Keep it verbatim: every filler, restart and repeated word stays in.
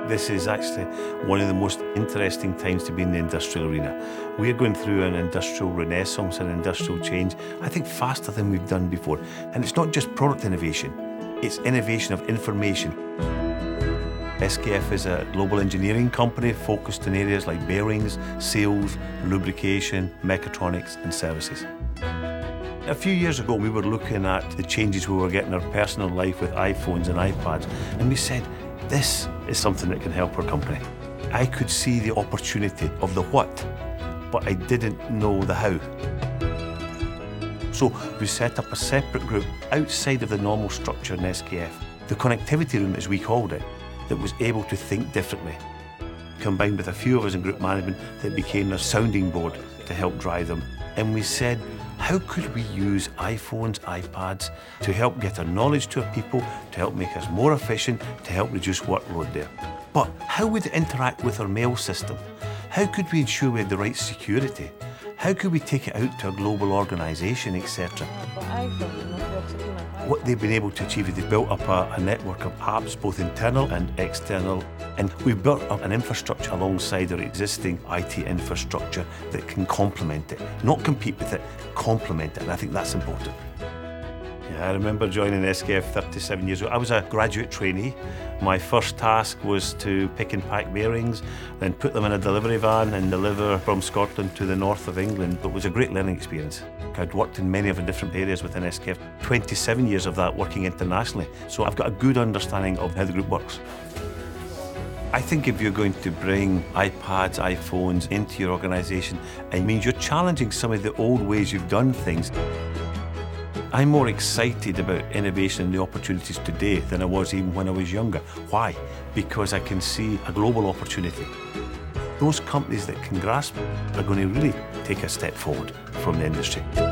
This is actually one of the most interesting times to be in the industrial arena. We're going through an industrial renaissance, an industrial change, I think faster than we've done before. And it's not just product innovation, it's innovation of information. S K F is a global engineering company focused in areas like bearings, seals, lubrication, mechatronics and services. A few years ago we were looking at the changes we were getting in our personal life with iPhones and iPads, and we said, this is something that can help our company. I could see the opportunity of the what, but I didn't know the how. So we set up a separate group outside of the normal structure in S K F, the connectivity room as we called it, that was able to think differently. Combined with a few of us in group management that became a sounding board to help drive them. And we said, how could we use iPhones, iPads to help get our knowledge to our people, to help make us more efficient, to help reduce workload there? But how would it interact with our mail system? How could we ensure we had the right security? How could we take it out to a global organisation, et cetera? What they've been able to achieve is they've built up a, a network of apps, both internal and external, and we've built up an infrastructure alongside our existing I T infrastructure that can complement it, not compete with it, complement it, and I think that's important. Yeah, I remember joining S K F thirty-seven years ago. I was a graduate trainee. My first task was to pick and pack bearings, then put them in a delivery van and deliver from Scotland to the north of England. It was a great learning experience. I'd worked in many of the different areas within S K F, twenty-seven years of that working internationally, so I've got a good understanding of how the group works. I think if you're going to bring iPads, iPhones into your organisation, it means you're challenging some of the old ways you've done things. I'm more excited about innovation and the opportunities today than I was even when I was younger. Why? Because I can see a global opportunity. Those companies that can grasp are going to really take a step forward from the industry.